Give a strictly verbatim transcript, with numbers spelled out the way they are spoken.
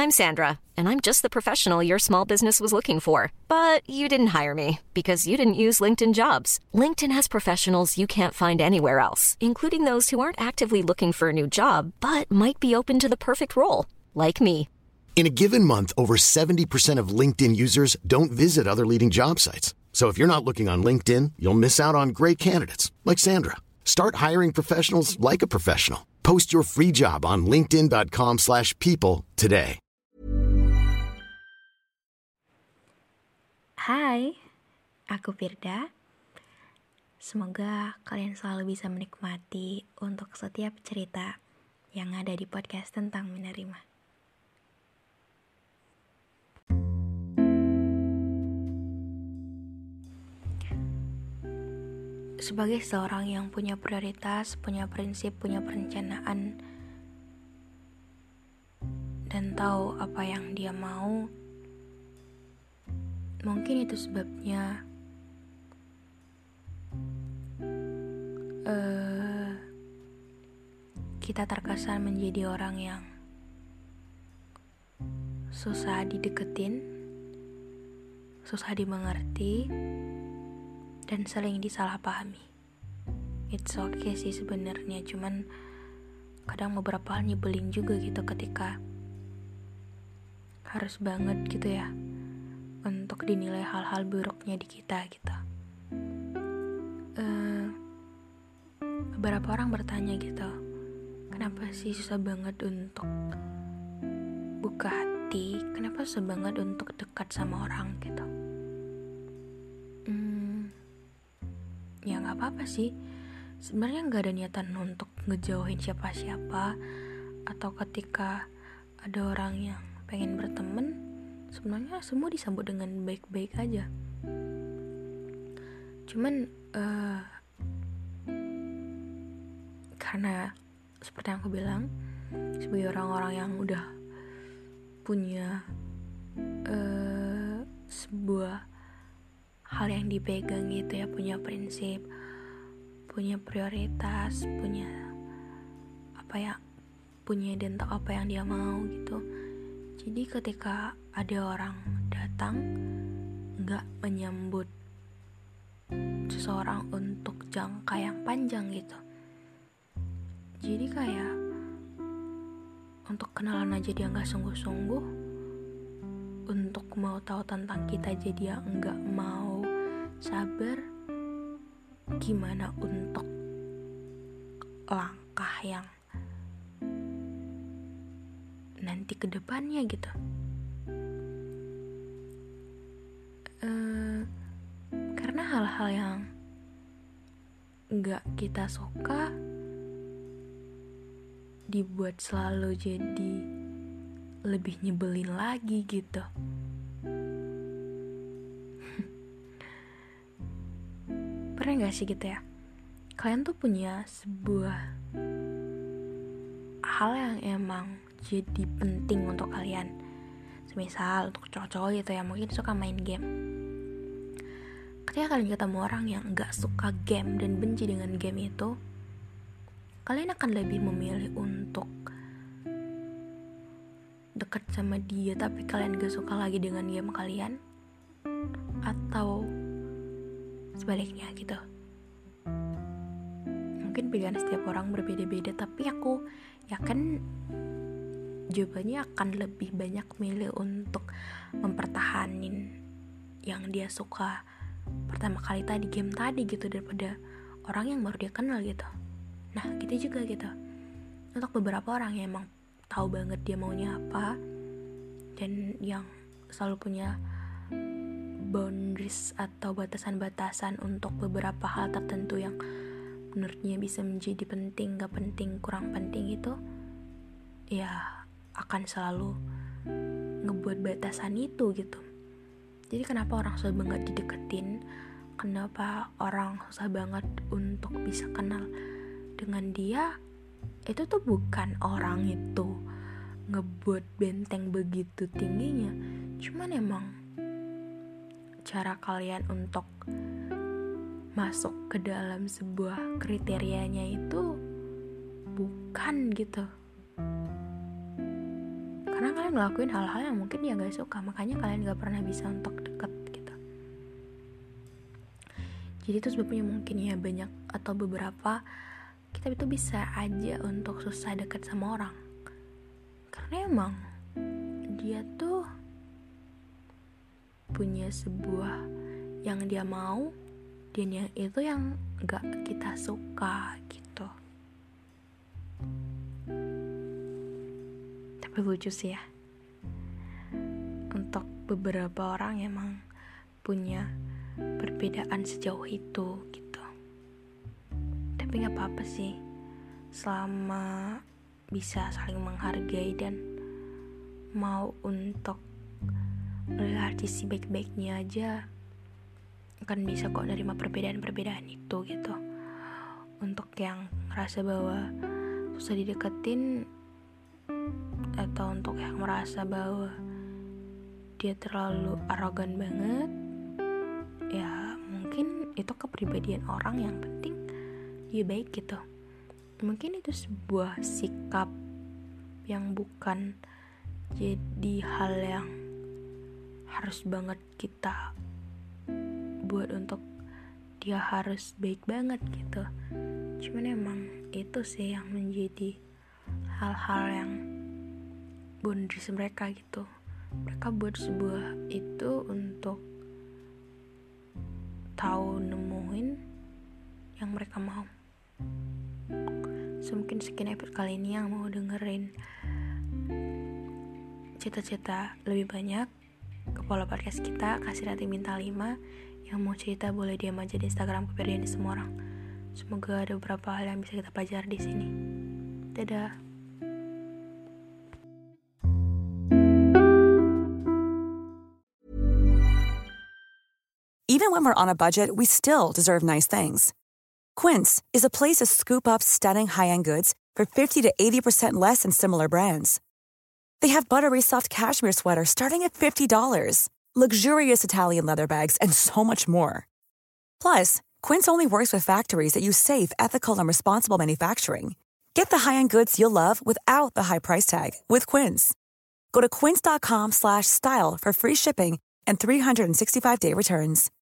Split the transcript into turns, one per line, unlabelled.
I'm Sandra, and I'm just the professional your small business was looking for. But you didn't hire me because you didn't use LinkedIn Jobs. LinkedIn has professionals you can't find anywhere else, including those who aren't actively looking for a new job, but might be open to the perfect role, like me.
In a given month, over seventy percent of LinkedIn users don't visit other leading job sites. So if you're not looking on LinkedIn, you'll miss out on great candidates like Sandra. Start hiring professionals like a professional. Post your free job on linkedin.com slash people today.
Hai, aku Firda. Semoga kalian selalu bisa menikmati untuk setiap cerita yang ada di podcast tentang menerima. Sebagai seorang yang punya prioritas, punya prinsip, punya perencanaan, dan tahu apa yang dia mau, mungkin itu sebabnya uh, kita terkesan menjadi orang yang susah dideketin, susah dimengerti, dan sering disalahpahami. It's okay sih sebenarnya, cuman kadang beberapa hal nyebelin juga gitu ketika harus banget gitu ya untuk dinilai hal-hal buruknya di kita gitu. Uh, beberapa orang bertanya gitu, kenapa sih susah banget untuk buka hati, kenapa susah banget untuk dekat sama orang gitu. Hmm, ya nggak apa-apa sih. Sebenarnya nggak ada niatan untuk ngejauhin siapa-siapa, atau ketika ada orang yang pengen berteman, sebenarnya semua disambut dengan baik-baik aja. Cuman uh, karena seperti yang aku bilang, sebagai orang-orang yang udah punya uh, sebuah hal yang dipegang gitu ya, punya prinsip, punya prioritas, punya apa ya, punya dan tahu apa yang dia mau gitu. Jadi ketika ada orang datang nggak menyambut seseorang untuk jangka yang panjang gitu, jadi kayak untuk kenalan aja dia nggak sungguh-sungguh, untuk mau tahu tentang kita aja dia nggak mau sabar, gimana untuk langkah yang nanti ke depannya gitu. Uh, karena hal-hal yang gak kita suka dibuat selalu jadi lebih nyebelin lagi gitu. Pernah gak sih gitu ya, kalian tuh punya sebuah hal yang emang jadi penting untuk kalian. Semisal untuk cowok-cowok gitu ya, mungkin suka main game. Ketika kalian ketemu orang yang gak suka game dan benci dengan game itu, kalian akan lebih memilih untuk deket sama dia tapi kalian gak suka lagi dengan game kalian, atau sebaliknya gitu. Mungkin pilihan setiap orang berbeda-beda, tapi aku yakin jawabannya akan lebih banyak milih untuk mempertahanin yang dia suka pertama kali tadi, game tadi gitu, daripada orang yang baru dia kenal gitu. Nah gitu juga gitu untuk beberapa orang yang emang tahu banget dia maunya apa, dan yang selalu punya boundaries atau batasan-batasan untuk beberapa hal tertentu yang menurutnya bisa menjadi penting, gak penting, kurang penting itu, ya akan selalu ngebuat batasan itu gitu. Jadi kenapa orang susah banget dideketin, kenapa orang susah banget untuk bisa kenal dengan dia, itu tuh bukan orang itu ngebuat benteng begitu tingginya, cuman emang cara kalian untuk masuk ke dalam sebuah kriterianya itu bukan gitu. Karena karena kalian ngelakuin hal-hal yang mungkin dia gak suka, makanya kalian gak pernah bisa untuk deket gitu. Jadi itu sebabnya mungkin ya banyak atau beberapa kita itu bisa aja untuk susah deket sama orang, karena emang dia tuh punya sebuah yang dia mau dan yang itu yang gak kita suka gitu. Tapi lucu sih ya, untuk beberapa orang emang punya perbedaan sejauh itu gitu. Tapi gak apa-apa sih, selama bisa saling menghargai dan mau untuk melihat sisi baik-baiknya aja, kan bisa kok nerima perbedaan-perbedaan itu gitu. Untuk yang ngerasa bahwa susah dideketin, atau untuk yang merasa bahwa dia terlalu arogan banget, ya mungkin itu kepribadian orang, yang penting dia baik gitu. Mungkin itu sebuah sikap yang bukan jadi hal yang harus banget kita buat untuk dia harus baik banget gitu. Cuman emang itu sih yang menjadi hal-hal yang boundaries mereka gitu. Mereka buat sebuah itu untuk tahu nemuin yang mereka mau. So mungkin sekian episode kali ini yang mau dengerin cerita-cerita lebih banyak ke Pola Podcast kita, kasih rating bintang lima. Yang mau cerita boleh D M aja di Instagram kepedean di semua orang. Semoga ada beberapa hal yang bisa kita pelajari di sini. Dadah.
Even when we're on a budget, we still deserve nice things. Quince is a place to scoop up stunning high-end goods for fifty to eighty percent less than similar brands. They have buttery soft cashmere sweaters starting at fifty dollars, luxurious Italian leather bags, and so much more. Plus, Quince only works with factories that use safe, ethical, and responsible manufacturing. Get the high-end goods you'll love without the high price tag with Quince. Go to quince.com slash style for free shipping and three sixty-five day returns.